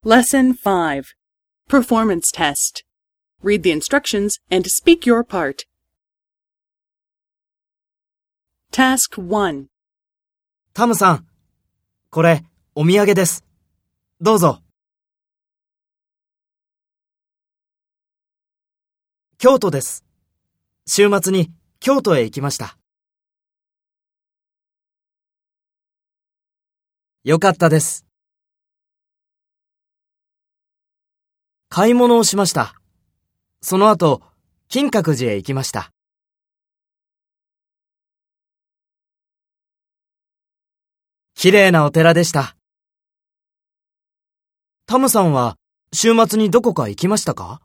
Lesson 5. Performance Test. Read the instructions and speak your part. Task 1. タムさん、これ、お土産です。どうぞ。京都です。週末に京都へ行きました。よかったです。買い物をしました。その後、金閣寺へ行きました。綺麗なお寺でした。タムさんは週末にどこか行きましたか？